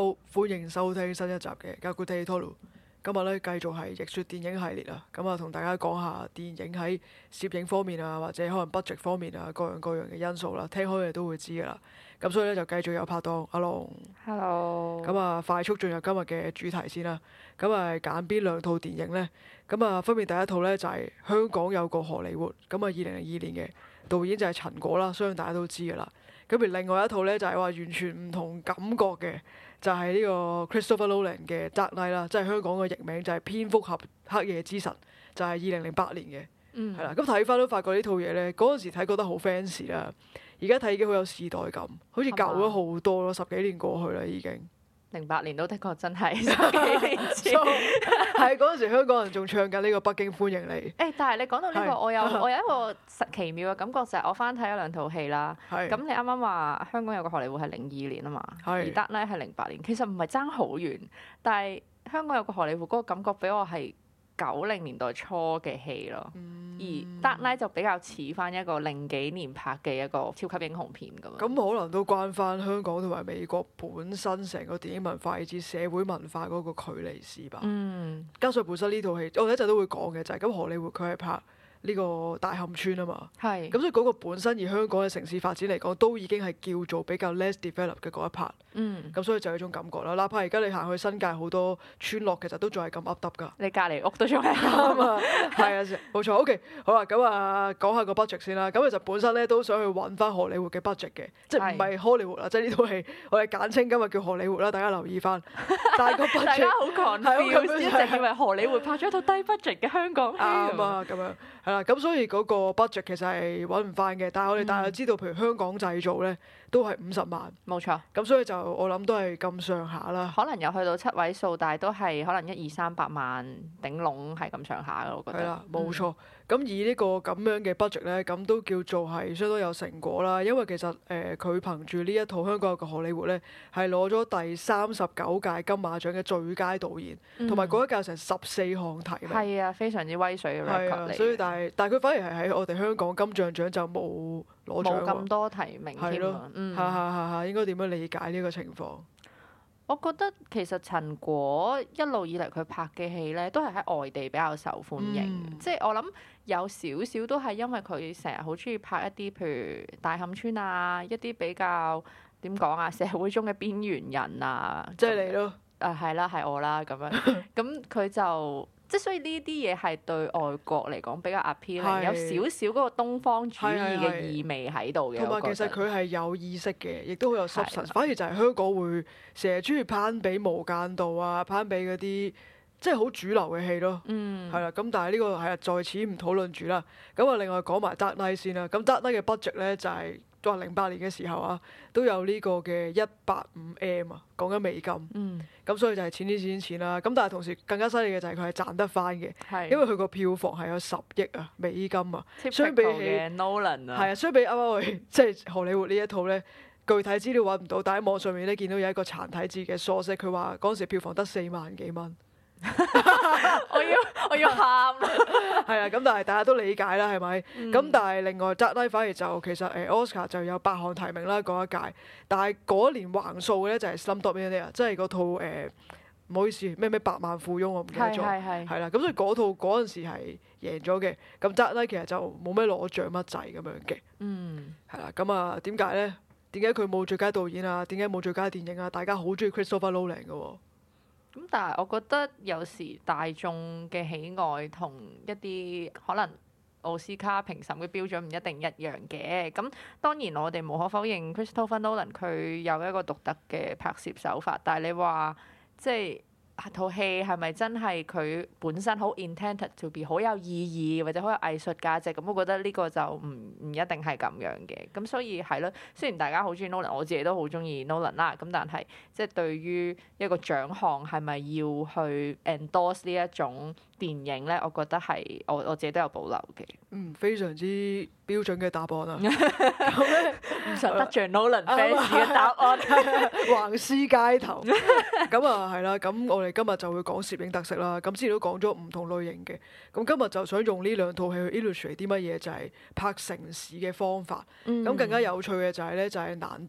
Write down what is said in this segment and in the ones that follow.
好，歡迎收聽新一集嘅《Gaguetto》。今日咧繼續係逆說電影系列啊，咁啊同大家講下電影喺攝影方面啊，或者可能 budget 方面啊，各樣各樣嘅因素啦，聽開嘅都會知噶啦。咁所以咧就繼續有拍檔阿龍。 Hello。 咁啊，快速進入今日嘅主題先啦。咁啊，揀邊兩套電影呢？咁啊，分別第一套呢，就係香港有個荷里活，咁啊2002年嘅導演就係陳果啦，相信大家都知噶啦。咁而另外一套呢，就係話完全唔同感覺嘅，就係呢個 Christopher Nolan 嘅 Dark Knight 啦，即係香港嘅譯名就係蝙蝠俠黑夜之神，就係2008年嘅，係啦。咁睇翻都發覺呢套嘢呢，嗰陣時睇覺得好 fans 啦，而家睇已經好有時代感，好似舊咗好多咯，10幾年過去啦已經。 08年都的確真係10幾年前， 係嗰陣時香港人仲唱緊呢個北京歡迎你。 但係你講到呢個， 係我有一個奇妙嘅感覺，就係我翻睇咗兩套戲啦。 係咁你啱啱話香港有個荷里活係02年啊嘛， 係而 Dark Knight係08年，其實唔係爭好遠，但係香港有個荷里活嗰個感覺俾我係90年代初嘅戲咯。而 Dark Knight 就比較似翻一個零幾年拍嘅一個超級英雄片咁樣。 咁可能都關翻香港同埋美國本身成個電影文化以至社會文化嗰個距離事吧。加上本身呢套戲，我哋一陣都會講嘅就係咁，荷里活佢係拍呢個大磡村啊嘛。 係。 咁所以嗰個本身以香港嘅城市發展嚟講，都已經係叫做比較 less developed 嘅嗰一 part。咁所以就有一種感覺啦。哪怕而家你行去新界好多村落，其實都仲係咁噏耷㗎。 你隔離屋都仲係啱啊，係啊，冇錯。OK，好啦，咁啊講下個 budget 先啦。咁其實本身咧都想去揾翻荷里活嘅 budget 嘅，即係唔係荷里活啦，即係呢套戲我哋簡稱今日叫荷里活啦，大家留意翻。但係個 budget 大家好 confused，一直以為荷里活拍咗一套低 budget 嘅香港戲。 啱啊，咁樣係啦。咁所以嗰個 budget 其實係揾唔翻嘅，但係我哋大概知道，譬如香港製造咧都係50萬。 冇錯。 咁所以就我諗都係咁上下啦。 可能有去到7位數，但係都係可能100-200-300萬頂籠係咁上下嘅，我覺得。 係啦，冇錯。咁以呢個咁樣嘅 budget 咧，咁都叫做係相當有成果啦。因為其實佢憑住呢一套香港有個荷里活咧，係攞咗第39屆金馬獎嘅最佳導演，同埋嗰一屆成14項提名。 係啊，非常之威水嘅 record 嚟。 所以但係佢反而係喺我哋香港金像獎就冇攞獎喎。 冇咁多提名添啊。 係，應該點樣理解呢個情況？ 我覺得其實陳果一路以嚟佢拍嘅戲咧，都係喺外地比較受歡迎。即係我諗有少少都係因為佢成日好中意拍一啲譬如大磡村啊，一啲比較點講啊，社會中嘅邊緣人啊。 即係你咯。 係啦，係我啦咁樣。咁佢就即係所以呢啲嘢係對外國嚟講比較 appealing，有少少嗰個東方主義嘅意味喺度嘅。 同埋其實佢係有意識嘅，亦都好有 substance。反而就係香港會成日中意攀比無間道啊，攀比嗰啲即係好主流嘅戲咯。係啦，咁但係呢個係啊，在此唔討論住啦。咁啊，另外講埋 Dark Knight 先啦。咁 Dark Knight 嘅 budget 咧就係話08年嘅時候啊，都有呢個嘅185M啊，講緊美金。咁所以就係錢錢啦。咁但係同時更加犀利嘅就係佢係賺得翻嘅，因為佢個票房係有10億啊美金啊。相比起 Nolan 啊， 係啊，相比啱啱我哋即係荷里活呢一套咧，具體資料揾唔到，但喺網上面咧見到有一個殘體字嘅 source，佢話嗰陣時票房得4萬幾蚊。 我要喊啦！ 係啊，咁但係大家都理解啦，係咪？咁但係另外 Dark Knight 反而就其實Oscar 就有8項提名啦嗰一屆，但係嗰一年橫掃嘅咧就係 Slumdog Millionaire，即係嗰套唔好意思咩百萬富翁我唔記得咗，係啦，咁所以嗰套嗰陣時係贏咗嘅。咁 Dark Knight 其實就冇咩攞獎乜滯咁樣嘅。係啦，咁啊點解咧？點解佢冇最佳導演啊？點解冇最佳電影啊？大家好中意 Christopher Nolan 嘅喎。 咁但係我覺得有時大眾嘅喜愛同一啲可能奧斯卡評審嘅標準唔一定一樣嘅。咁當然我哋無可否認 Christopher Nolan 佢有一個獨特嘅拍攝手法，但係你話即係套戲係咪真係佢本身好 intended to be 好有意義或者好有藝術價值？咁我覺得呢個就唔一定係咁樣嘅。咁所以係咯，雖然大家好中意 Nolan，我自己都好中意 Nolan 啦。咁但係即係對於一個獎項係咪要去 endorse 呢一種電影咧？我覺得係我自己都有保留嘅。 非常之標準嘅答案啊！ 咁咧唔想得罪 Nolan fans 嘅答案， 橫屍街頭。咁啊係啦，咁我哋今日就會講攝影特色啦。咁之前都講咗唔同類型嘅，咁今日就想用呢兩套戲去 illustrate 啲乜嘢，就係拍城市嘅方法。咁更加有趣嘅就係咧，就係難得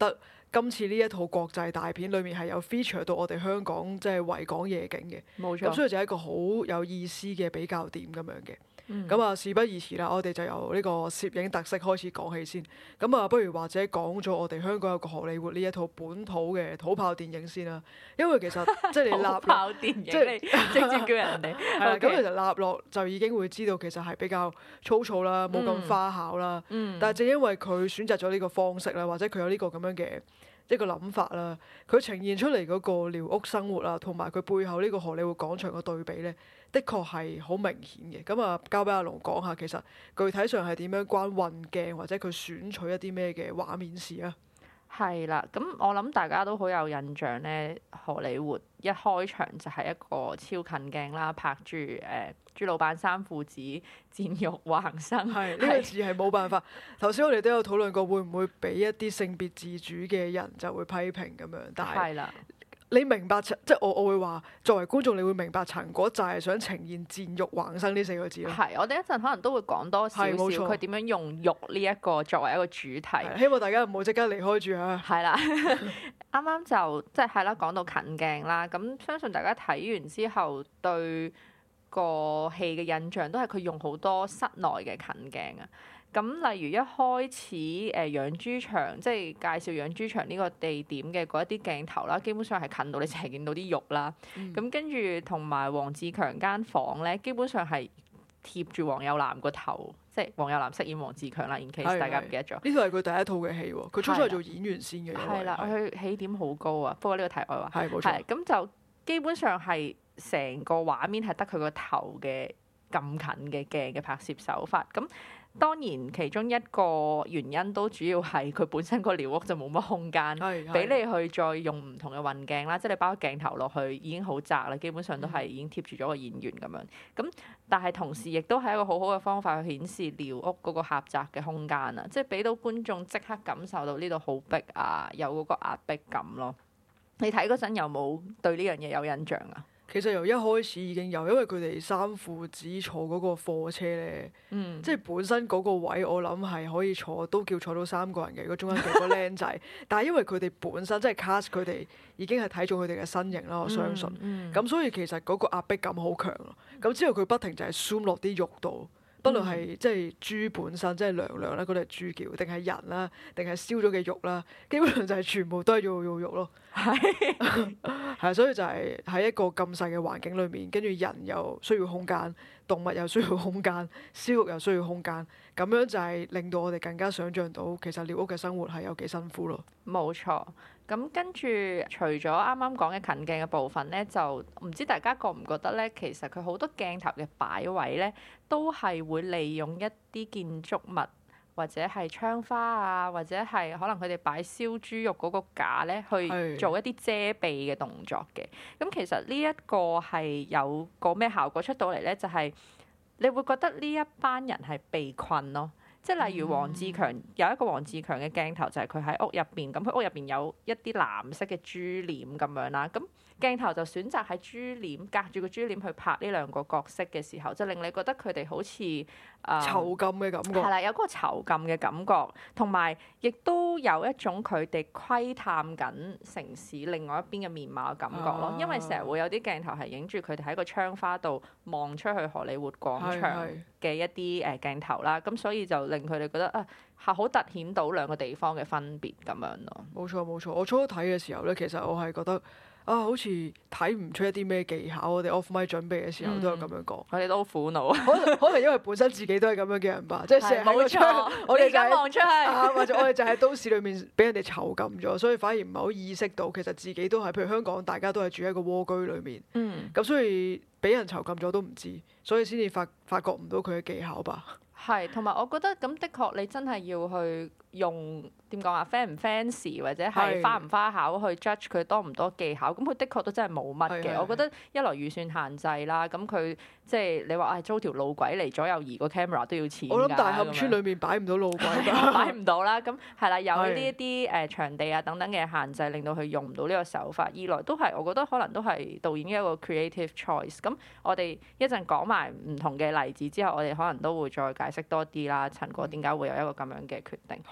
今次呢一套國際大片裏面係有 feature 到我哋香港即係維港夜景嘅， 冇錯。 咁所以就係一個好有意思嘅比較點咁樣嘅。 嗯咁啊，事不宜遲啦，我哋就由呢個攝影特色開始講起先。咁啊，不如或者講咗我哋香港有個荷里活呢一套本土嘅土炮電影先啦。因為其實即係你立落， 土炮電影， 即係你直接叫人哋。 係啦，咁 OK 其實立落就已經會知道其實係比較粗糙啦，冇咁花巧啦。但係正因為佢選擇咗呢個方式啦，或者佢有呢個咁樣嘅一個諗法啦，佢呈現出嚟嗰個寮屋生活啊，同埋佢背後呢個荷里活廣場嘅對比咧，的確係好明顯嘅。咁啊，交俾阿龍講下，其實具體上係點樣關運鏡或者佢選取一啲咩嘅畫面事啊？ 係啦，咁我諗大家都好有印象咧，荷里活一開場就係一個超近鏡啦，拍住朱老闆三父子賤肉橫生。 係呢個字係冇辦法。頭先我哋都有討論過，會唔會俾一啲性別自主嘅人就會批評咁樣？但係係啦， 你明白即係我會話，作為觀眾你會明白陳果就係想呈現賤肉橫生呢四個字咯。 係我哋一陣可能都會講多少少係冇錯佢點樣用肉呢一個作為一個主題。 係希望大家唔好即刻離開住啊！ 係啦，啱啱就即係啦，講到近鏡啦，咁相信大家睇完之後對個戲嘅印象都係佢用好多室內嘅近鏡啊。咁例如一開始養豬場，即係介紹養豬場呢個地點嘅嗰一啲鏡頭啦，基本上係近到你淨係見到啲肉啦。咁跟住同埋黃志強間房咧，基本上係貼住黃有南個頭，即係黃有南飾演黃志強啦。in case 係大家唔記得咗。 呢套係佢第一套嘅戲喎，佢初初係做演員先嘅，因為係啦，佢起點好高啊。不過呢個題外話。 係冇錯， 係咁就基本上係成個畫面係得佢個頭嘅咁近嘅鏡嘅拍攝手法。咁當然其中一個原因都主要係佢本身個寮屋就冇乜空間係俾你去再用唔同嘅運鏡啦，即係你包鏡頭落去已經好窄啦，基本上都係已經貼住咗個演員咁樣。咁但係同時亦都係一個好好嘅方法去顯示寮屋嗰個狹窄嘅空間啊，即係俾到觀眾即刻感受到呢度好逼啊，有嗰個壓迫感咯。你睇嗰陣有冇對呢樣嘢有印象啊？ 其實由一開始已經有，因為佢哋三父子坐嗰個貨車咧，即係本身嗰個位我諗係可以坐，都叫坐到三個人嘅。如果中間有個僆仔，但係因為佢哋本身即係 cast 佢哋已經係睇中佢哋嘅身形啦，我相信。咁所以其實嗰個壓迫感好強咯。咁之後佢不停就係 zoom 落啲肉度。不論係即係豬本身，即係娘娘啦，嗰度係豬叫，定係人啦，定係燒咗嘅肉啦，基本上就係全部都係肉咯。係啊，所以就係喺一個咁細嘅環境裏面，跟住人又需要空間，動物又需要空間，燒肉又需要空間，咁樣就係令到我哋更加想像到其實寮屋嘅生活係有幾辛苦咯。 冇錯。咁跟住，除咗啱啱講嘅近鏡嘅部分咧，就唔知大家覺唔覺得咧，其實佢好多鏡頭嘅擺位咧，都係會利用一啲建築物或者係窗花啊，或者係可能佢哋擺燒豬肉嗰個架咧，去做一啲遮蔽嘅動作嘅。咁其實呢一個係有個咩效果出到嚟咧？就係你會覺得呢一班人係被困咯。即係例如黃志強有一個黃志強嘅鏡頭，就係佢喺屋入邊，咁佢屋入邊有一啲藍色嘅豬簾咁樣啦，咁鏡頭就選擇喺豬簾隔住個豬簾去拍呢兩個角色嘅時候，就令你覺得佢哋好似囚禁嘅感覺。 係啦，有嗰個囚禁嘅感覺，同埋亦都有一種佢哋窺探緊城市另外一邊嘅面貌嘅感覺咯。因為成日會有啲鏡頭係影住佢哋喺個窗花度望出去荷里活廣場嘅一啲鏡頭啦，咁所以就令佢哋覺得係好突顯到兩個地方嘅分別咁樣咯。 冇錯冇錯，我初睇嘅時候咧，其實我係覺得好似睇唔出一啲咩技巧。我哋 off mic 準備嘅時候都有咁樣講。 我哋都好苦惱。 可能因為本身自己都係咁樣嘅人吧，即係成日喺個窗，我哋就係望出去， 或者我哋就喺都市裏面俾人哋囚禁咗，所以反而唔係好意識到其實自己都係，譬如香港大家都係住喺個蝸居裏面，咁所以俾人囚禁咗都唔知，所以先至發覺唔到佢嘅技巧吧。 係，同埋我覺得咁的確你真係要去用點講啊 fan 唔 fancy 或者係花唔花巧去 judge 佢多唔多技巧，咁佢的確都真係冇乜嘅。我覺得一來預算限制啦，咁佢即係你話租條路軌嚟左右移個 camera 都要錢㗎。 我諗大磡村裏面擺唔到路軌㗎， 擺唔到啦。咁係啦，有呢一啲場地啊等等嘅限制，令到佢用唔到呢個手法。二來都係我覺得可能都係導演嘅一個 creative choice。咁我哋一陣講埋唔同嘅例子之後，我哋可能都會再解釋多啲啦。陳果點解會有一個咁樣嘅決定？ 好啊。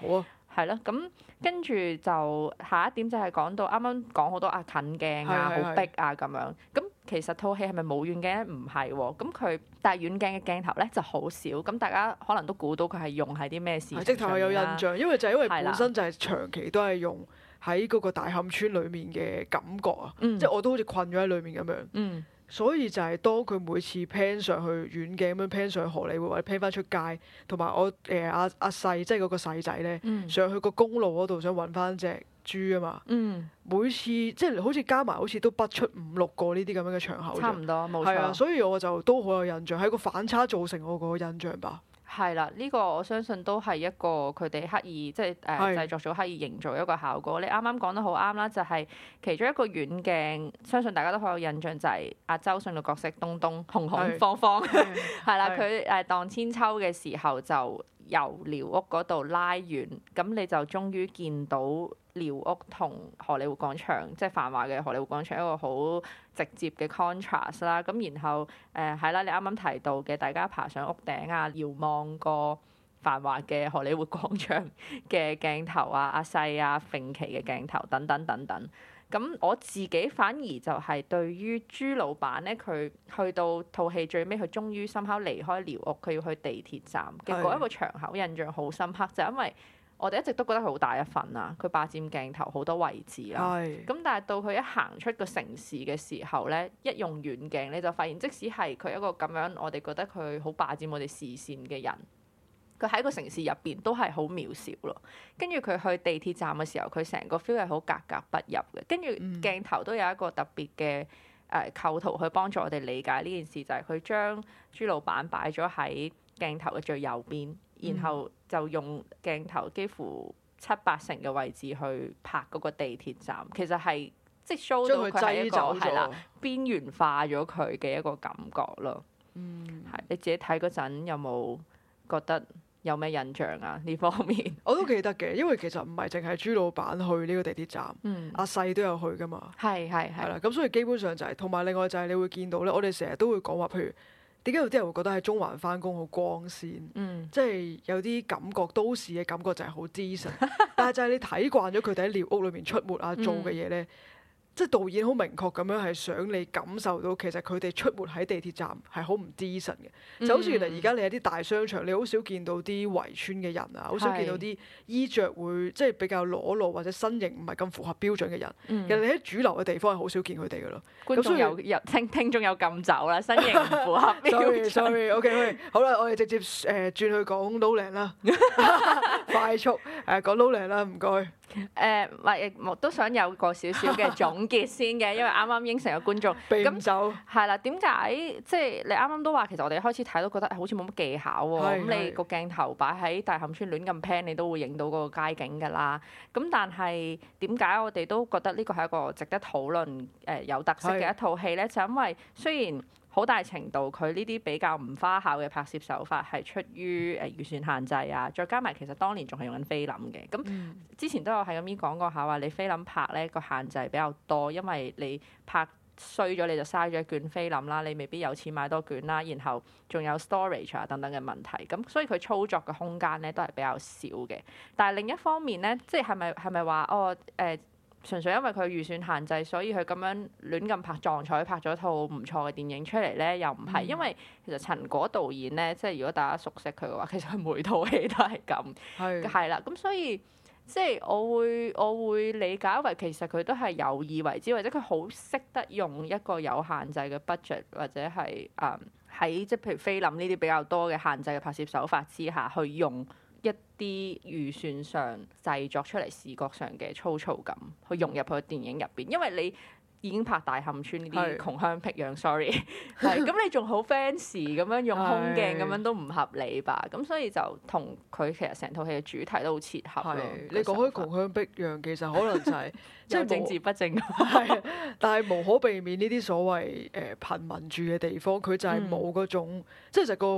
係咯，咁跟住就下一點就係講到啱啱講好多近鏡啊、 係好逼啊咁樣。咁其實套戲係咪冇遠鏡咧？唔係喎。咁佢但係遠鏡嘅鏡頭咧就好少。咁大家可能都估到佢係用喺啲咩事情直頭係有印象，因為係啦本身就係長期都係用喺嗰個大磡村裡面嘅感覺啊， 嗯即係我都好似困咗喺裡面咁樣。 嗯所以就係當佢每次 pan 上去遠鏡咁樣 pan 上去荷里活或者 pan 翻出街，同埋我阿細即係嗰個細仔咧， 嗯上去個公路嗰度想揾翻隻豬啊嘛。 嗯， 每次即係好似加埋好似都不出5-6個呢啲咁樣嘅場口啫。 差唔多冇係啊， 錯。 所以我就都好有印象，係個反差造成我個印象吧。 係啦，呢個我相信都係一個佢哋刻意即係係製作組刻意營造一個效果。你啱啱講得好啱啦，就係其中一個遠鏡，相信大家都好有印象，就係阿周迅嘅角色東東紅紅方方係啦，佢盪千秋嘅時候就由寮屋嗰度拉遠，咁你就終於見到寮屋同荷里活廣場，即係繁華嘅荷里活廣場一個好直接嘅 contrast 啦。咁然後係啦，你啱啱提到嘅，大家爬上屋頂啊，遙望個繁華嘅荷里活廣場嘅鏡頭啊，阿細啊，揈旗嘅鏡頭等等等等。咁我自己反而就係對於朱老闆咧，佢去到套戲最尾，佢終於深刻離開寮屋，佢要去地鐵站嘅嗰一個場口印象好深刻，就係因為我哋一直都覺得佢好大一份啊，佢霸佔鏡頭好多位置啦。 係咁但係到佢一行出個城市嘅時候咧，一用遠鏡你就發現，即使係佢一個咁樣，我哋覺得佢好霸佔我哋視線嘅人，佢喺個城市入邊都係好渺小咯。跟住佢去地鐵站嘅時候，佢成個 feel 係好格格不入嘅。跟住鏡頭都有一個特別嘅構圖去幫助我哋理解呢件事，就係佢將朱老闆擺咗喺鏡頭嘅最右邊，然後就用鏡頭幾乎7-8成嘅位置去拍嗰個地鐵站。其實係即係 show 到佢係一個係啦邊緣化咗佢嘅一個感覺咯。係你自己睇嗰陣有冇覺得有咩印象啊？呢方面我都記得嘅，因為其實唔係淨係朱老闆去呢個地鐵站，阿細都有去噶嘛。係啦，咁所以基本上就係同埋另外就係你會見到咧，我哋成日都會講話，譬如點解有啲人會覺得喺中環翻工好光鮮，即係有啲感覺都市嘅感覺就係好 decent，但係就係你睇慣咗佢哋喺寮屋裏面出沒啊做嘅嘢咧。即係導演好明確咁樣係想你感受到其實佢哋出沒喺地鐵站係好唔 decent 嘅，就好似原來而家你喺啲大商場，你好少見到啲圍村嘅人啊，好少見到啲衣着會即係比較裸露或者身形唔係咁符合標準嘅人。其實你喺主流嘅地方係好少見佢哋噶咯。 觀眾有聽眾有禁酒啦，身形唔符合標準。 sorry，OK，好啦，我哋直接轉去講 Nolan 啦，快速講 Nolan 啦，唔該。 我都想有個少少嘅總結先嘅，因為啱啱應承咗觀眾， 咁就係啦。點解即係你啱啱都話，其實我哋一開始睇都覺得好似冇乜技巧喎。咁你個鏡頭擺喺大磡村亂咁 pan，你都會影到嗰個街景㗎啦。咁但係點解我哋都覺得呢個係一個值得討論有特色嘅一套戲咧？就因為雖然好大程度佢呢啲比較唔花巧嘅拍攝手法係出於預算限制啊，再加埋其實當年仲係用緊菲林嘅。咁之前都有係咁樣講過下話，你菲林拍咧個限制比較多，因為你拍衰咗你就嘥咗一卷菲林啦，你未必有錢買多卷啦，然後仲有 storage 啊等等嘅問題，咁所以佢操作嘅空間咧都係比較少嘅。但係另一方面咧，即係咪話純粹因為佢預算限制，所以佢咁樣亂咁拍撞彩拍咗套唔錯嘅電影出嚟咧，又唔係，因為其實陳果導演咧，即係如果大家熟悉佢嘅話，其實佢每套戲都係咁，係啦，咁所以即係我會理解為其實佢都係有意為之，或者佢好識得用一個有限制嘅 budget，或者係喺即係譬如菲林呢啲比較多嘅限制嘅拍攝手法之下去用一啲預算上製作出嚟視覺上嘅粗糙感，去融入去電影入邊。因為你已經拍大磡村呢啲窮鄉僻壤，sorry， 係咁你仲好 fancy 咁樣用空鏡咁樣都唔合理吧？咁所以就同佢其實成套戲嘅主題都好切合咯。 你講開窮鄉僻壤，其實可能就係即係政治不正。 係，但係無可避免呢啲所謂貧民住嘅地方，佢就係冇嗰種，即係就個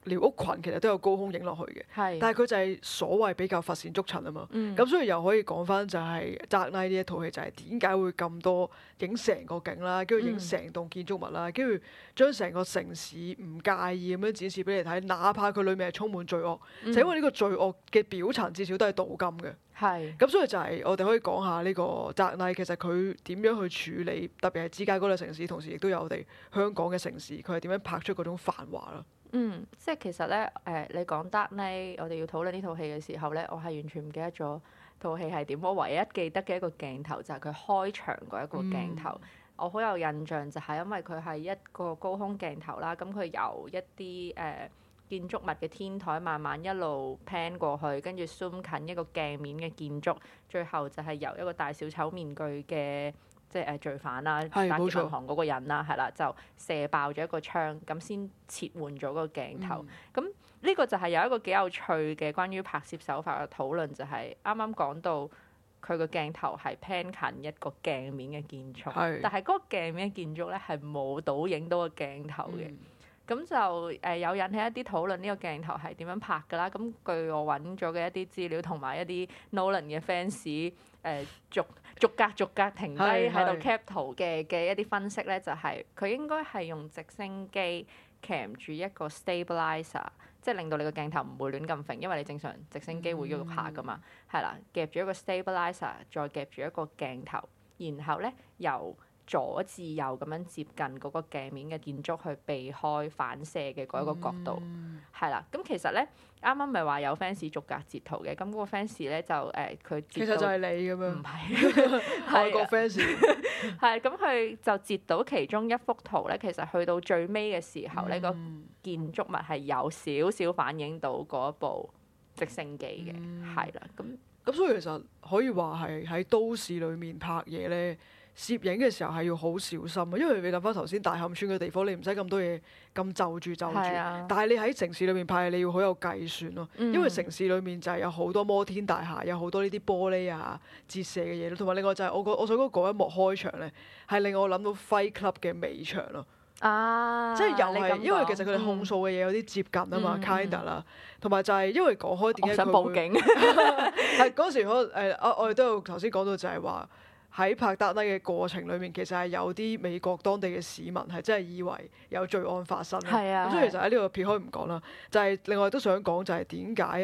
寮屋群其實都有高空影落去嘅， 係， 但係佢就係所謂比較乏善足陳啊嘛。 嗯咁所以又可以講翻就係《Dark Knight》呢一套戲就係點解會咁多影成個景啦，跟住影成棟建築物啦，跟住將成個城市唔介意咁樣展示俾你睇，哪怕佢裡面係充滿罪惡，就因為呢個罪惡嘅表層至少都係鍍金嘅。 係， 咁所以就係我哋可以講下呢個《Dark Knight》其實佢點樣去處理，特別係芝加哥嘅城市，同時亦都有我哋香港嘅城市，佢係點樣拍出嗰種繁華啦。 即係其實咧，你講 Dark Knight，我哋要討論呢套戲嘅時候咧，我係完全唔記得咗套戲係點。我唯一記得嘅一個鏡頭就係佢開場嗰一個鏡頭。我好有印象就係因為佢係一個高空鏡頭啦，咁佢由一啲建築物嘅天台慢慢一路 pan 過去，跟住 zoom 近一個鏡面嘅建築，最後就係由一個戴小丑面具嘅即係罪犯啦，打劫銀行嗰個人啦，係啦，就射爆咗一個窗，咁先切換咗個鏡頭。咁呢個就係有一個幾有趣嘅關於拍攝手法嘅討論，就係啱啱講到佢個鏡頭係 pan 近一個鏡面嘅建築，但係嗰個鏡面嘅建築咧係冇倒影到個鏡頭嘅。咁就有引起一啲討論，呢個鏡頭係點樣拍㗎啦？咁據我揾咗嘅一啲資料同埋一啲 Nolan 嘅 fans 逐格停低喺度 cap 圖嘅一啲分析咧，就係佢應該係用直升機鉗住一個 stabilizer， 即係令到你個鏡頭唔會亂咁揈，因為你正常直升機會喐下㗎嘛，係啦，夾住一個 stabilizer， 再夾住一個鏡頭，然後咧由左至右咁樣接近嗰個鏡面嘅建築去避開反射嘅嗰一個角度，係啦。咁其實咧，啱啱咪話有 fans 逐格截圖嘅，咁嗰個 fans 咧就佢其實就係你咁樣， 唔係外國 fans， 係咁佢就截到其中一幅圖咧，其實去到最尾嘅時候咧，個建築物係有少少反映到嗰部直升機嘅，係啦。咁所以其實可以話係喺都市裡面拍嘢咧。攝影嘅時候係要好小心啊，因為你諗翻頭先大磡村嘅地方，你唔使咁多嘢咁就住，但係你喺城市裏面拍，你要好有計算咯。因為城市裏面就係有好多摩天大廈，有好多呢啲玻璃啊、折射嘅嘢咯，同埋另外就係我想講嗰一幕開場咧，係令我諗到 Fight Club 嘅尾場咯。即係又係因為其實佢哋控訴嘅嘢有啲接近啊嘛，kinda 啦，同埋就係因為講開點解佢想報警係嗰時可能我哋都有頭先講到就係話。喺拍 Dark Knight 嘅過程裏面，其實係有啲美國當地嘅市民係真係以為有罪案發生。咁所以其實喺呢度撇開唔講啦，就係另外都想講就係點解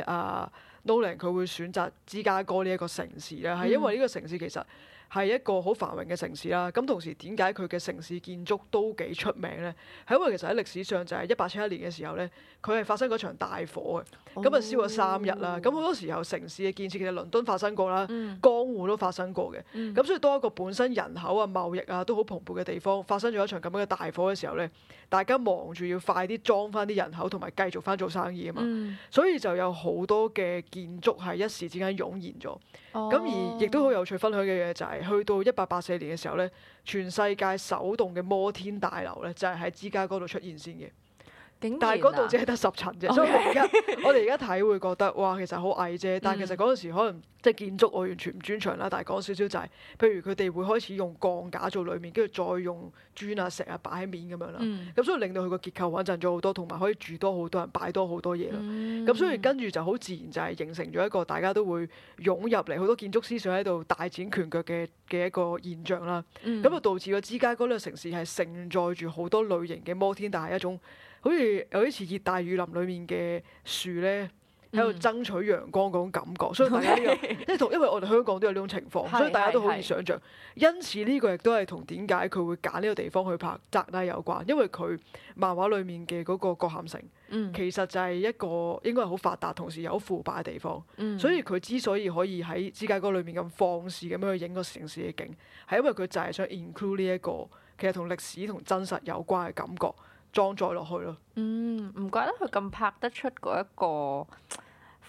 Nolan 佢會選擇芝加哥呢一個城市咧？係因為呢個城市其實係一個好繁榮嘅城市啦。咁同時點解佢嘅城市建築都幾出名咧？係因為其實喺歷史上就係1871年嘅時候咧，佢係發生嗰場大火嘅，咁啊燒咗3日啦。咁好多時候城市嘅建設其實倫敦發生過啦，江戶都發生過嘅。咁所以當一個本身人口啊、貿易啊都好蓬勃嘅地方發生咗一場咁樣嘅大火嘅時候咧，大家忙住要快啲裝翻啲人口同埋繼續翻做生意啊嘛。所以就有好多嘅建築係一時之間湧現咗。咁而亦都好有趣分享嘅嘢就係去到1884年嘅時候咧，全世界首棟嘅摩天大樓咧就係喺芝加哥度出現先嘅。但係嗰度只係得10層啫，所以我哋而家睇會覺得哇，其實好矮啫。但係其實嗰陣時可能即係建築我完全唔專長啦，但係講少少就係，譬如佢哋會開始用鋼架做裡面，跟住再用磚啊石啊擺喺面咁樣啦。咁所以令到佢個結構穩陣咗好多，同埋可以住多好多人，擺多好多嘢啦。咁所以跟住就好自然就係形成咗一個大家都會湧入嚟，好多建築思想喺度大展拳腳嘅一個現象啦。咁就導致咗芝加哥呢個城市係承載住好多類型嘅摩天大廈，一種好似有啲似熱帶雨林裡面嘅樹咧，喺度爭取陽光嗰種感覺，所以大家呢個因為我哋香港都有呢種情況，所以大家都好易想像。因此呢個亦都係同點解佢會揀呢個地方去拍 Dark Knight有關，因為佢漫畫裡面嘅嗰個葛咸城，其實就係一個應該係好發達，同時又好腐敗嘅地方。所以佢之所以可以喺芝加哥裏面咁放肆咁樣去影個城市嘅景，係因為佢就係想 include 呢一個其實同歷史同真實有關嘅感覺。裝載落去咯。 唔怪得佢咁拍得出嗰一個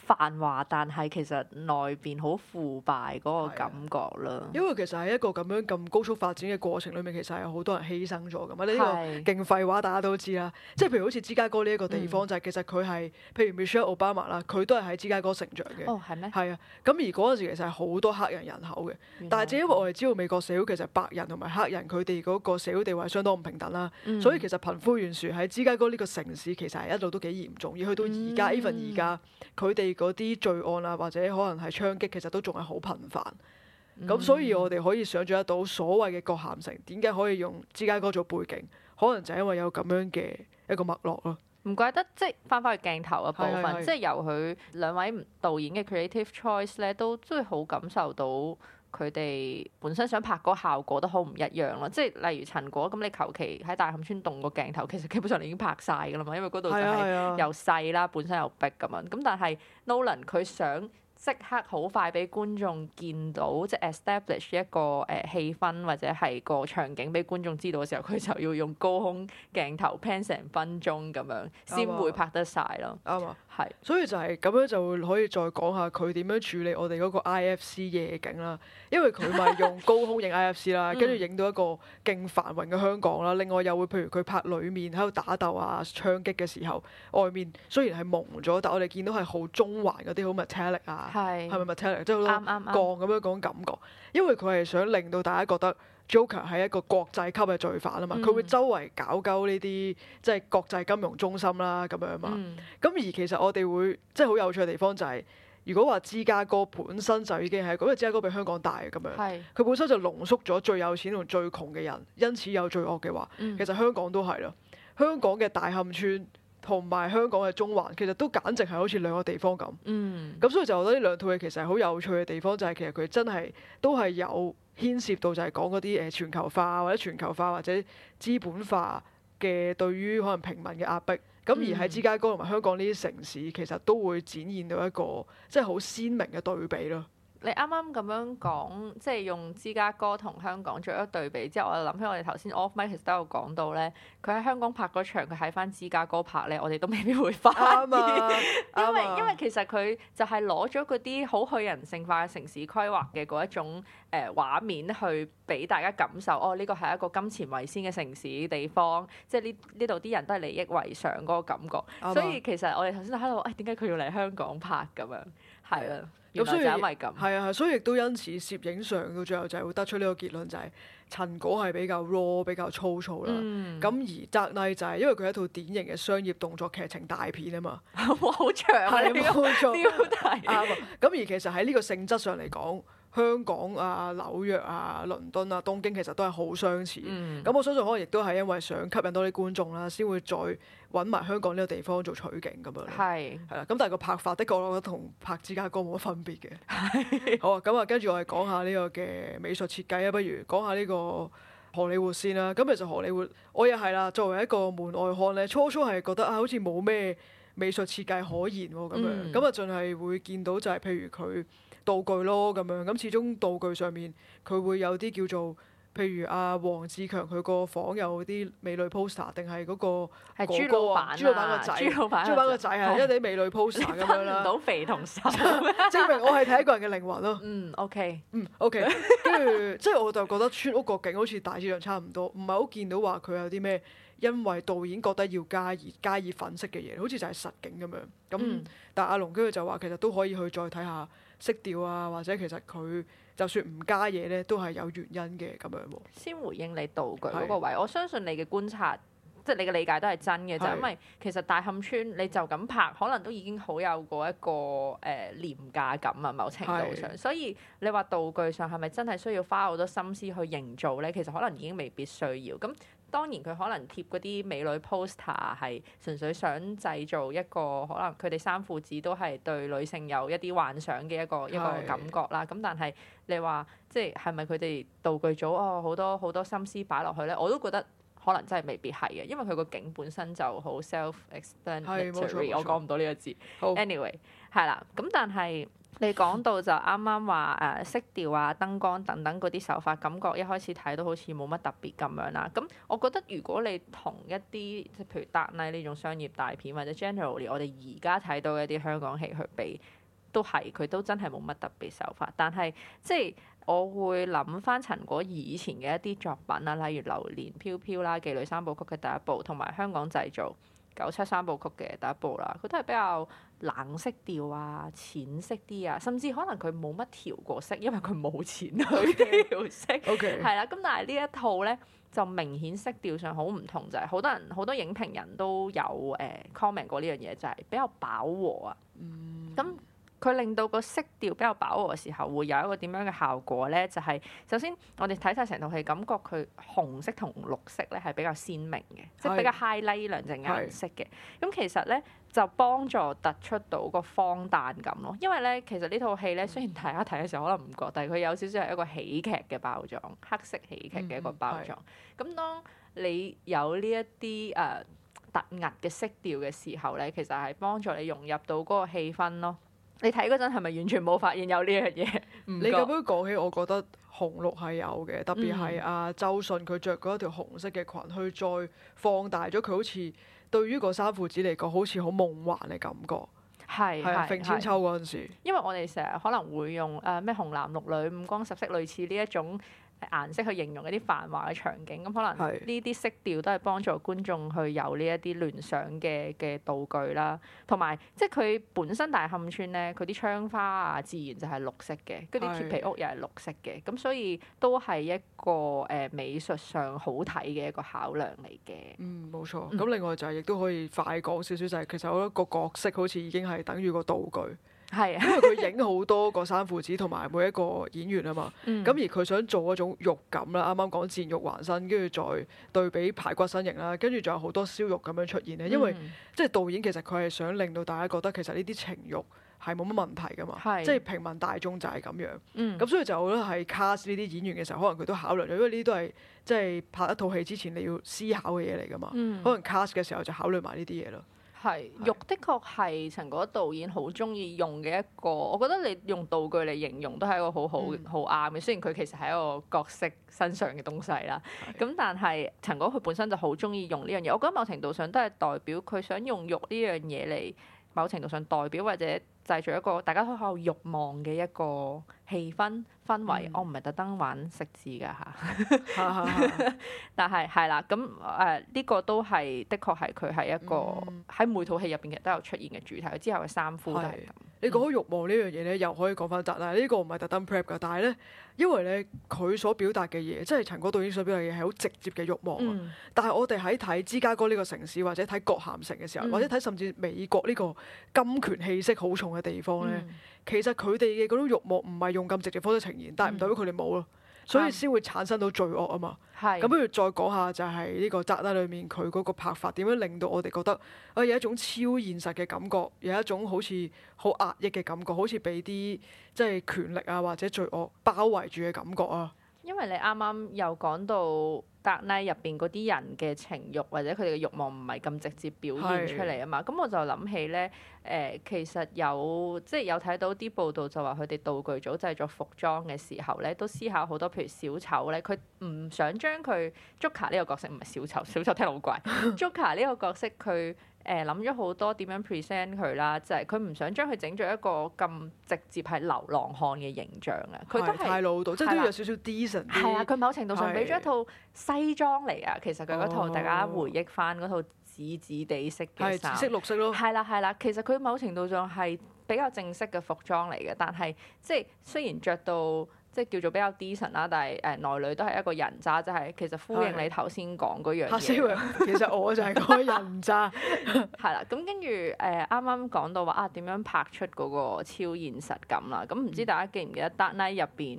繁華，但係其實內邊好腐敗嗰個感覺啦。 因為其實喺一個咁樣咁高速發展嘅過程裏面，其實係有好多人犧牲咗㗎嘛。呢係個勁廢話，大家都知啦。即係譬如好似芝加哥呢一個地方，就係其實佢係譬如 Michelle Obama 啦，佢都係喺芝加哥成長嘅。 哦，係咩？ 係啊，咁而嗰陣時其實係好多黑人人口嘅，但係正因為我哋知道美國社會其實白人同埋黑人佢哋嗰個社會地位相當唔平等啦，所以其實貧富懸殊喺芝加哥呢個城市其實係一路都幾嚴重，而去到而家 even 而家佢哋嗰啲罪案啊或者可能係槍擊，其實都仲係好頻繁。咁所以我哋可以想像得到所謂嘅葛咸城點解可以用芝加哥做背景，可能就係因為有咁樣嘅一個脈絡咯。 唔怪得即係翻返去鏡頭嘅部分， 係係係即係由佢兩位導演嘅 creative choice 咧，都真係好感受到佢哋本身想拍嗰個效果都好唔一樣咯。即係例如陳果咁，你求其喺大磡村動個鏡頭，其實基本上你已經拍晒㗎啦嘛，因為嗰度就係係啊又細啦，本身又逼咁樣。咁但係 Nolan 佢想即刻好快俾觀眾見到，即係 establish 一個氣氛或者係個場景俾觀眾知道嘅時候，佢就要用高空鏡頭 pan 成分鐘咁樣，先會拍得晒咯。 啱啊！ 係所以就係咁樣就會可以再講下佢點樣處理我哋嗰個 IFC 夜景啦，因為佢咪用高空影 IFC 啦，跟住影到一個勁繁榮嘅香港啦。另外又會譬如佢拍裡面喺度打鬥啊、槍擊嘅時候，外面雖然係蒙咗，但我哋見到係好中環嗰啲好 metallic 啊， 係係咪 metallic？即係好多啱啱啱鋼咁樣嗰種感覺，因為佢係想令到大家覺得 Joker 係一個國際級嘅罪犯啊嘛，佢會周圍搞鳩呢啲即係國際金融中心啦咁樣嘛。咁而其實我哋會即係好有趣嘅地方就係，如果話芝加哥本身就已經係，因為芝加哥比香港大咁樣， 係佢本身就濃縮咗最有錢同最窮嘅人，因此有罪惡嘅話，其實香港都係啦。香港嘅大磡村同埋香港嘅中環，其實都簡直係好似兩個地方咁。咁所以就覺得呢兩套嘢其實係好有趣嘅地方，就係其實佢真係都係有牽涉到就係講嗰啲全球化或者全球化或者資本化嘅對於可能平民嘅壓迫。咁而喺芝加哥同埋香港呢啲城市，其實都會展現到一個即係好鮮明嘅對比咯。 你啱啱咁樣講，即係用芝加哥同香港做一個對比之後，我就諗起我哋頭先 off mic 其實都有講到咧，佢喺香港拍嗰場，佢喺翻芝加哥拍咧，我哋都未必會發現， 啱啊因為其實佢就係攞咗嗰啲好去人性化嘅城市規劃嘅嗰一種畫面去俾大家感受，哦呢個係一個金錢為先嘅城市地方，即係呢度啲人都係利益為上嗰個感覺，所以其實我哋頭先就喺度，點解佢要嚟香港拍咁樣？係啊。原來就係因為咁， 係啊，所以亦都因此攝影上到最後就係會得出呢個結論，就係陳果係比較 raw、比較粗糙啦。咁而澤麗就係因為佢係一套典型嘅商業動作劇情大片啊嘛。 哇，好長啊！ 係冇錯， 標題。 啱啊。咁而其實喺呢個性質上嚟講，香港啊、紐約啊、倫敦啊、東京其實都係好相似。咁我相信可能亦都係因為想吸引多啲觀眾啦，先會再揾埋香港呢個地方做取景咁樣。 係啦，咁但係個拍法的確我覺得同拍芝加哥冇乜分別嘅。好啊，咁啊，跟住我哋講下呢個嘅美術設計啊，不如講下呢個荷里活先啦。咁其實荷里活我又係啦，作為一個門外漢咧，初初係覺得好似冇咩美術設計可言喎咁樣。咁啊，淨係會見到就係譬如佢道具咯咁樣，咁始終道具上面佢會有啲叫做，譬如阿黃志強佢個房有啲美女 poster， 定係嗰個係哥哥啊，朱老闆個仔，朱老闆個仔係一啲美女 poster 咁樣啦。 分唔到肥同瘦， 證明我係睇一個人嘅靈魂咯。OK，跟住即係我就覺得村屋個景好似大致上差唔多，唔係好見到話佢有啲咩，因為導演覺得要加以粉飾嘅嘢，好似就係實景咁樣。咁但係阿龍跟住就話其實都可以去再睇下色調啊，或者其實佢就算唔加嘢咧，都係有原因嘅咁樣喎。 先回應你道具嗰個位，我相信你嘅觀察，即係你嘅理解都係真嘅，就因為其實大磡村你就咁拍，可能都已經好有過一個廉價感啊，某程度上。所以你話道具上係咪真係需要花好多心思去營造咧？其實可能已經未必需要。咁當然佢可能貼嗰啲美女 poster 係純粹想製造一個可能佢哋三父子都係對女性有一啲幻想嘅一個感覺啦。咁但係你話即係咪佢哋道具組好多好多心思擺落去咧？我都覺得可能真係未必係嘅，因為佢個景本身就好 self-explanatory，我講唔到呢個字。 好 anyway 係啦，咁但係你講到就啱啱話色調啊、燈光等等嗰啲手法，感覺一開始睇到好似冇乜特別咁樣啦。咁我覺得如果你同一啲即係譬如 Dark Knight 呢種商業大片，或者 generally 我哋而家睇到嘅一啲香港戲去比，都係佢都真係冇乜特別手法。但係即係我會諗翻陳果以前嘅一啲作品啊，例如《流年飄飄》啦，《妓女三部曲》嘅第一部，同埋《香港製造》97三部曲嘅第一部啦，佢都係比較冷色調啊、淺色啲啊，甚至可能佢冇乜調過色，因為佢冇錢去調色。 OK， 係啦，咁但係呢一套咧就明顯色調上好唔同，就係好多影評人都有comment 過呢樣嘢，就係比較飽和啊。咁佢令到個色調比較飽和嘅時候，會有一個點樣嘅效果咧？就係首先我哋睇晒成套戲，感覺佢紅色同綠色咧係比較鮮明嘅，即係比較 highlight 呢兩隻顏色嘅。咁其實咧就幫助突出到個荒誕感咯。因為咧其實呢套戲咧，雖然大家睇嘅時候可能唔覺，但係佢有少少係一個喜劇嘅包裝，黑色喜劇嘅一個包裝。咁當你有呢一啲突兀嘅色調嘅時候咧，其實係幫助你融入到嗰個氣氛咯。你睇嗰陣係咪完全冇發現有呢樣嘢？ 你咁樣講起，我覺得紅綠係有嘅，特別係阿周迅佢着嗰一條紅色嘅裙，去再放大咗佢好似對於個三父子嚟講，好似好夢幻嘅感覺。 係啊，揈千秋嗰陣時， 因為我哋成日可能會用咩紅男綠女、五光十色類似呢一種顏色去形容一啲繁華嘅場景，咁可能呢啲色調都係幫助觀眾去有呢一啲聯想嘅道具啦，同埋即係佢本身大磡村咧，佢啲窗花啊，自然就係綠色嘅，嗰啲鐵皮屋又係綠色嘅，咁所以都係一個美術上好睇嘅一個考量嚟嘅。 冇錯。咁另外就係亦都可以快講少少，就係其實我覺得個角色好似已經係等於個道具。 係啊， 因為佢影好多個三父子同埋每一個演員啊嘛，咁而佢想做嗰種肉感啦，啱啱講賤肉還身，跟住再對比排骨身形啦，跟住仲有好多燒肉咁樣出現咧，因為即係導演其實佢係想令到大家覺得其實呢啲情慾係冇乜問題噶嘛，即係平民大眾就係咁樣，咁所以就我覺得係 cast 呢啲演員嘅時候，可能佢都考慮咗，因為呢啲都係即係拍一套戲之前你要思考嘅嘢嚟噶嘛，可能 cast 嘅時候就考慮埋呢啲嘢咯。 係，肉的確係陳果導演好中意用嘅一個，我覺得你用道具嚟形容都係一個好啱嘅。雖然佢其實係一個角色身上嘅東西啦，咁但係陳果佢本身就好中意用呢樣嘢。我覺得某程度上都係代表佢想用肉呢樣嘢嚟，某程度上代表或者製造一個大家都好有慾望嘅一個氣氛圍。我唔係特登玩食字㗎嚇，但係係啦，咁呢個都係的確係佢係一個喺每套戲入邊其實都有出現嘅主題。之後嘅三夫都係咁。 你講起慾望呢樣嘢咧，又可以講翻但係呢個唔係特登 prep 㗎，但係咧，因為咧佢所表達嘅嘢，即係陳果導演所表達嘅嘢係好直接嘅慾望。但係我哋喺睇芝加哥呢個城市，或者睇葛咸城嘅時候，或者睇甚至美國呢個金權氣息好重嘅地方咧，其實佢哋嘅嗰種慾望唔係用咁直接方式呈現，但係唔代表佢哋冇咯。所以先會產生到罪惡啊嘛。咁不如再講下就係呢個《Dark Knight》裏面佢嗰個拍法點樣令到我哋覺得有一種超現實嘅感覺，有一種好似好壓抑嘅感覺，好似俾啲即係權力啊或者罪惡包圍住嘅感覺啊。 因為你啱啱又講到《Dark Knight》入邊嗰啲人嘅情慾或者佢哋嘅慾望唔係咁直接表現出嚟啊嘛，咁我就諗起咧其實有睇到啲報道就話佢哋道具組製作服裝嘅時候咧，都思考好多，譬如小丑咧，佢唔想將佢 Joker 呢個角色唔係小丑，小丑聽到好怪，Joker 呢個角色佢諗咗好多點樣 present 佢啦，就係佢唔想將佢整咗一個咁直接係流浪漢嘅形象啊，佢都係太老道，即係都有少少 decent 啲。 係啊，佢某程度上俾咗一套西裝嚟啊，其實佢嗰套大家回憶翻嗰套紫紫地色嘅衫， 紫色綠色咯。 係啦，其實佢某程度上係比較正式嘅服裝嚟嘅，但係即係雖然着到即係叫做比較 decent 啦，但係內裏都係一個人渣，就係其實呼應你頭先講嗰樣嘢。 其實我就係嗰個人渣。 係啦，咁跟住啱啱講到話點樣拍出嗰個超現實感啦，咁唔知大家記唔記得《Dark Knight》入邊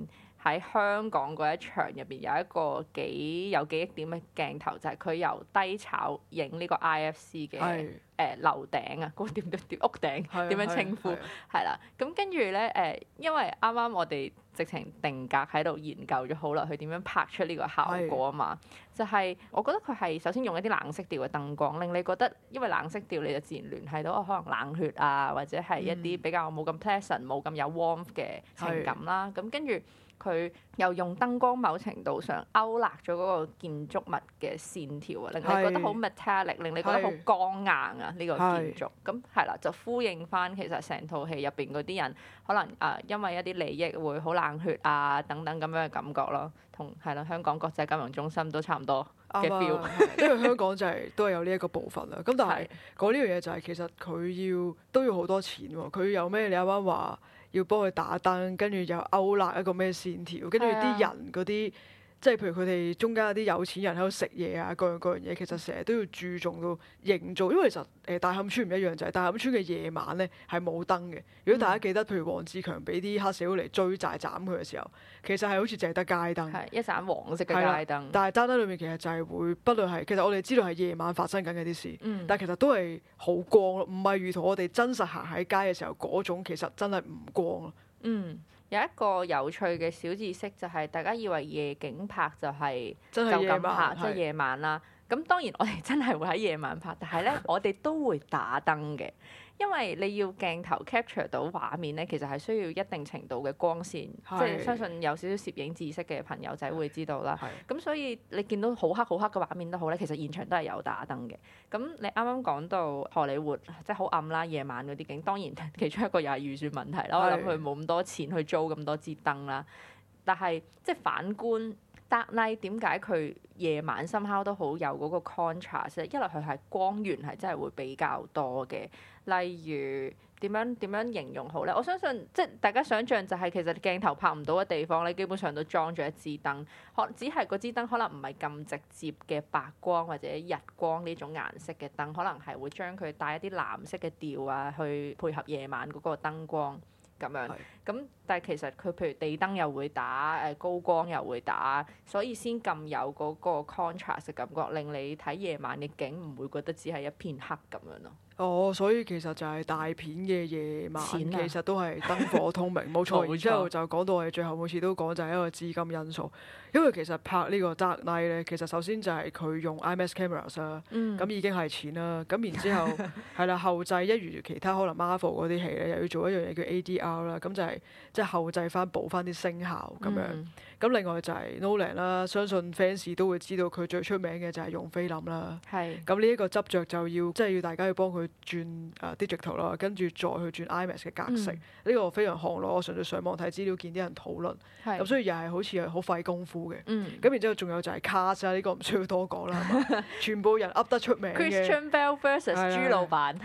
喺香港嗰一場入邊有一個幾有記憶點嘅鏡頭，就係佢由低炒影呢個 IFC 嘅樓頂啊，嗰個點屋頂點樣稱呼係啦。咁跟住咧因為啱啱我哋直情定格喺度研究咗好耐，佢點樣拍出呢個效果啊嘛。就係我覺得佢係首先用一啲冷色調嘅燈光，令你覺得因為冷色調你就自然聯繫到可能冷血啊，或者係一啲比較冇咁 pleasant、冇咁有 warmth 嘅情感啦。咁跟住佢又用燈光某程度上勾勒咗嗰個建築物嘅線條啊，令你覺得好 metallic， 令你覺得好剛硬啊呢個建築。咁係啦，就呼應翻其實成套戲入邊嗰啲人可能因為一啲利益會好冷血啊等等咁樣嘅感覺咯，同係啦香港國際金融中心都差唔多嘅 feel。 因為香港就都係有呢一個部分啦。咁但係講呢樣嘢就係其實佢都要好多錢喎。佢有咩？你啱啱話要幫佢打燈，跟住又勾勒一個咩線條，跟住啲人嗰啲，即係譬如佢哋中間有啲有錢人喺度食嘢啊，各樣嘢，其實成日都要注重到營造，因為其實大磡村唔一樣，就係大磡村嘅夜晚咧係冇燈嘅。如果大家記得，譬如黃志強俾啲黑社會嚟追債斬佢嘅時候，其實係好似淨係得街燈， 係一盞黃色嘅街燈。 但係街燈裏面其實就係會，不論係其實我哋知道係夜晚發生緊嘅啲事，但係其實都係好光咯，唔係如同我哋真實行喺街嘅時候嗰種，其實真係唔光咯。 有一個有趣嘅小知識就係大家以為夜景拍就係真係夜晚， 即係夜晚啦。咁當然我哋真係會喺夜晚拍，但係咧我哋都會打燈嘅，因為你要鏡頭 capture 到畫面咧，其實係需要一定程度嘅光線，即係相信有少少攝影知識嘅朋友仔會知道啦。咁所以你見到好黑好黑嘅畫面都好咧，其實現場都係有打燈嘅。咁你啱啱講到荷里活即係好暗啦，夜晚嗰啲景，當然其中一個又係預算問題啦。我諗佢冇咁多錢去租咁多支燈啦，但係即係反觀Dark Knight 點解佢夜晚somehow都好有嗰個 contrast？一來佢係光源係真係會比較多嘅，例如點樣形容好咧？我相信即係大家想象就係其實鏡頭拍唔到嘅地方，你基本上都裝咗一支燈，只係嗰支燈可能唔係咁直接嘅白光或者日光呢種顏色嘅燈，可能係會將佢帶一啲藍色嘅調啊，去配合夜晚嗰個燈光。咁樣，咁但係其實佢譬如地燈又會打，高光又會打，所以先咁有嗰個 contrast 嘅感覺，令你睇夜晚嘅景唔會覺得只係一片黑咁樣咯。 所以其實就係大片嘅夜晚，其實都係燈火通明，冇錯。然之後就講到我哋最後每次都講就係一個資金因素，因為其實拍呢個 Dark Knight 咧，其實首先就係佢用 IMAX cameras 啦，咁已經係錢啦。咁然之後係啦，後製一如其他可能 Marvel 嗰啲戲咧，又要做一樣嘢叫 ADR 啦，咁就係即係後製翻補翻啲聲效咁樣。咁另外就係 Nolan 啦，相信 fans 都會知道佢最出名嘅就係用菲林啦。咁呢一個執着就要即係要大家要幫佢轉digital 啦，跟住再去轉 IMAX 嘅格式。呢個非常行內，我純粹上網睇資料見啲人討論。咁所以又係好似係好費功夫嘅。咁然之後仲有就係 cast 啦，呢個唔需要多講啦，係嘛？全部人噏得出名嘅。 Christian Bale versus 朱老闆。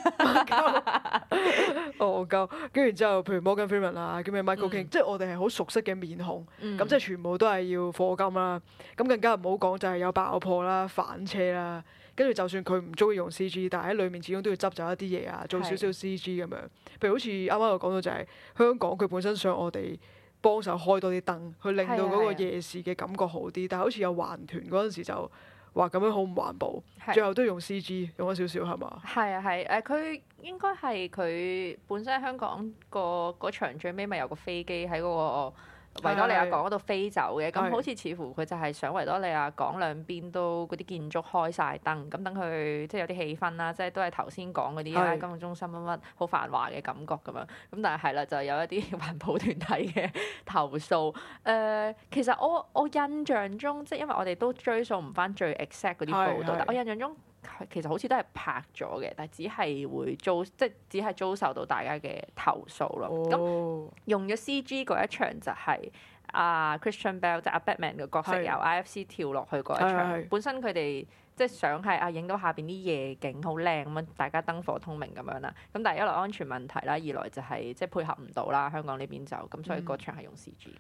跟住之後，譬如 Morgan Freeman 啊，叫咩 Michael King，即係我哋係好熟悉嘅面孔。咁即係全部都係要課金啦。咁更加唔好講就係有爆破啦、反車啦。跟住就算佢唔中意用 CG，但係喺裡面始終都要執走一啲嘢啊，做少少 CG 咁樣。譬如好似啱啱我講到就係香港，佢本身想我哋幫手開多啲燈，去令到嗰個夜視嘅感覺好啲。但係好似有環團嗰陣時就話咁樣好唔環保，最後都用 CG 用咗少少係嘛？ 佢應該係佢本身喺香港嗰場最尾咪有個飛機喺嗰個維多利亞港嗰度飛走嘅，咁好似似乎佢就係想維多利亞港兩邊都嗰啲建築開晒燈，咁等佢即係有啲氣氛啦，即係都係頭先講嗰啲金融中心乜乜好繁華嘅感覺咁樣。咁但係就有一啲環保團體嘅投訴。其實我印象中，即係因為我哋都追溯唔翻最 exact 嗰啲報道，但我印象中其實好似都係拍咗嘅，但係只係會只係遭受到大家嘅投訴咯。咁用咗 CG 嗰一場就係Christian Bale 即係Batman 嘅角色由 IFC 跳落去嗰一場。本身佢哋即係想係影到下邊啲夜景好靚咁樣，大家燈火通明咁樣啦。咁但係一來安全問題啦，二來就係即係配合唔到啦，香港呢邊就咁，所以嗰場係用 CG 嘅。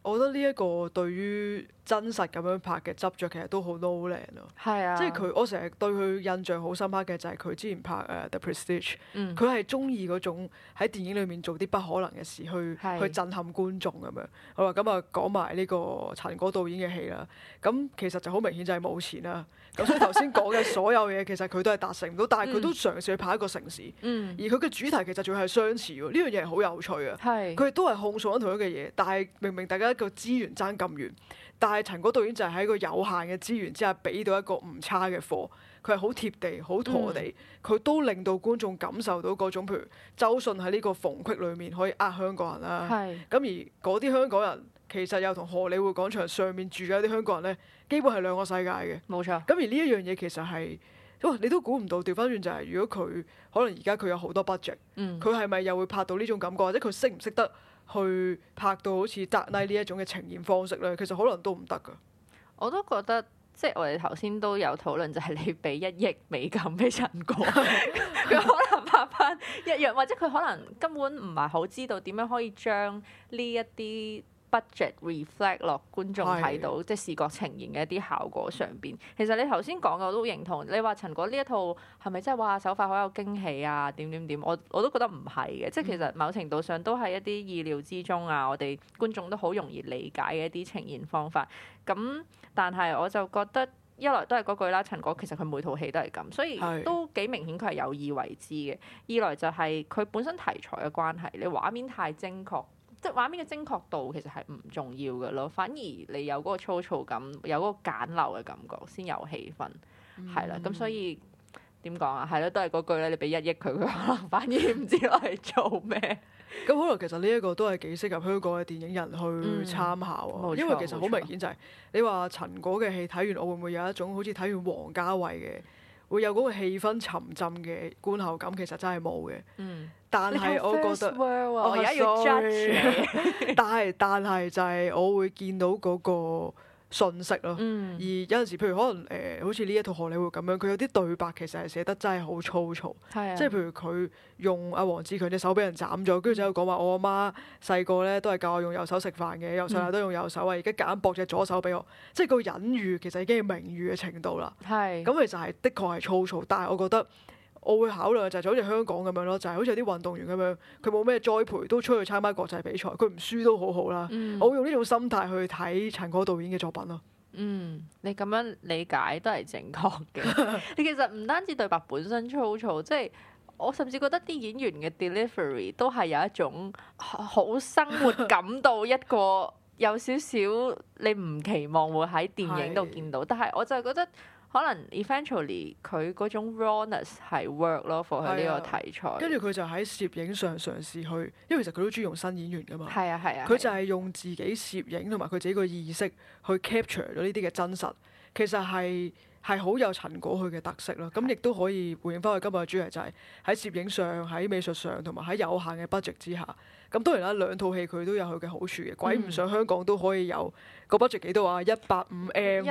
我覺得呢一個對於真實咁樣拍嘅執着，其實都好 Nolan 咯。 係啊， 即係佢，我成日對佢印象好深刻嘅就係佢之前拍The Prestige，佢係中意嗰種喺電影裏面做啲不可能嘅事去震撼觀眾咁樣。好啦，咁啊講埋呢個陳果導演嘅戲啦。咁其實就好明顯就係冇錢啦。咁所以頭先講嘅所有嘢其實佢都係達成唔到，但係佢都嘗試去拍一個城市。而佢嘅主題其實仲係相似喎。呢樣嘢係好有趣啊。佢哋都係控訴緊同一嘅嘢，但係明明大家個資源爭咁遠。但係陳果導演就係喺個有限嘅資源之下，俾到一個唔差嘅貨。佢係好貼地、好妥地，佢都令到觀眾感受到嗰種，譬如周迅喺呢個縫隙裏面可以香港人啦。咁而嗰啲香港人其實又同荷里活廣場上面住嘅一啲香港人呢，基本係兩個世界嘅。 冇錯。 咁而呢一樣嘢其實係，你都估唔到。調翻轉就係，如果佢可能而家佢有好多 budget，佢係咪又會拍到呢種感覺，或者佢識唔識得去拍到好似《Dark Knight》呢一種嘅呈現方式咧？其實可能都唔得㗎。 我都覺得，即係我哋頭先都有討論，就係你俾1億美金俾陳果，佢可能拍翻一樣，或者佢可能根本唔係好知道點樣可以將呢一啲budget reflect 落觀眾睇到，即係視覺呈現嘅一啲效果上邊。其實你頭先講嘅我都認同。你話陳果呢一套係咪真係哇手法好有驚喜啊？點點點，我都覺得唔係嘅。即係其實某程度上都係一啲意料之中啊，我哋觀眾都好容易理解嘅一啲呈現方法。咁但係我就覺得一來都係嗰句啦，陳果其實佢每套戲都係咁，所以都幾明顯佢係有意為之嘅。二來就係佢本身題材嘅關係，你畫面太精確。即係畫面嘅精確度其實係唔重要嘅咯，反而你有嗰個粗糙感，有嗰個簡陋嘅感覺先有氣氛，係啦。咁所以點講啊？係咯，都係嗰句咧。你俾1億佢，佢可能反而唔知攞嚟做咩。 咁可能其實呢一個都係幾適合香港嘅電影人去參考啊。因為其實好明顯就係你話陳果嘅戲睇完，我會唔會有一種好似睇完王家衛嘅，會有嗰個氣氛沉浸嘅觀後感？其實真係冇嘅。但係我覺得， 我而家要 judge 你。 但係就係我會見到嗰個信息咯。而有陣時，譬如可能好似呢一套荷里活咁樣，佢有啲對白其實係寫得真係好粗糙。即係譬如佢用阿黃志強隻手俾人斬咗，跟住就喺度講話我阿媽細個咧都係教我用右手食飯嘅，由細到大都用右手啊，而家夾硬駁隻左手俾我。即係個隱喻其實已經係明喻嘅程度啦。咁其實係的確係粗糙，但係我覺得。我會考慮就係好似香港咁樣咯，就係好似有啲運動員咁樣，佢冇咩栽培都出去參加國際比賽，佢唔輸都好好啦。我會用呢種心態去睇陳果導演嘅作品咯。 你咁樣理解都係正確嘅。你其實唔單止對白本身粗糙，即係我甚至覺得啲演員嘅 delivery 都係有一種好生活感到一個有少少你唔期望會喺電影度見到，但係我就係覺得。可能 eventually 佢嗰種 rawness 係 work 咯，for 佢呢個題材。跟住佢就喺攝影上嘗試去，因為其實佢都中意用新演員噶嘛。 係啊。 佢就係用自己攝影同埋佢自己個意識去 capture 咗呢啲嘅真實，其實係好有陳果佢嘅特色咯。咁亦都可以回應翻佢今日嘅主題，就係喺攝影上、喺美術上同埋喺有限嘅 budget 之下。咁當然啦，兩套戲佢都有佢嘅好處嘅。鬼唔想香港都可以有個 budget 幾多啊？185M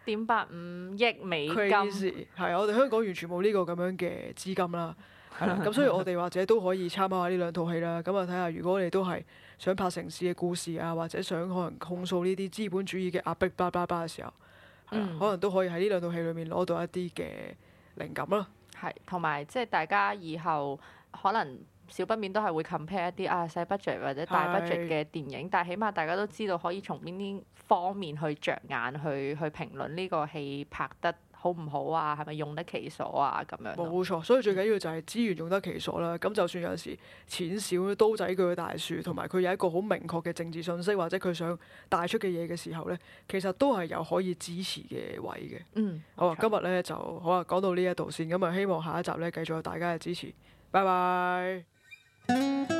1.85億美金。 係啊，我哋香港完全冇呢個咁樣嘅資金啦。係啦，咁所以我哋或者都可以參考下呢兩套戲啦。咁啊睇下，如果你都係想拍城市嘅故事啊，或者想可能控訴呢啲資本主義嘅壓迫巴拉巴拉嘅時候，可能都可以喺呢兩套戲裏面攞到一啲嘅靈感啦。 係，同埋即係大家以後可能。少不免都係會 compare 一啲細 budget 或者大 budget 嘅電影，但係起碼大家都知道可以從邊啲方面去着眼去評論呢個戲拍得好唔好啊，係咪用得其所啊咁樣。 冇錯，所以最緊要就係資源用得其所啦。咁就算有陣時錢少刀仔鋸大樹，同埋佢有一個好明確嘅政治信息或者佢想帶出嘅嘢嘅時候咧，其實都係有可以支持嘅位嘅。好啊，今日咧就好啊，講到呢一度先。咁啊，希望下一集咧繼續有大家嘅支持。拜拜。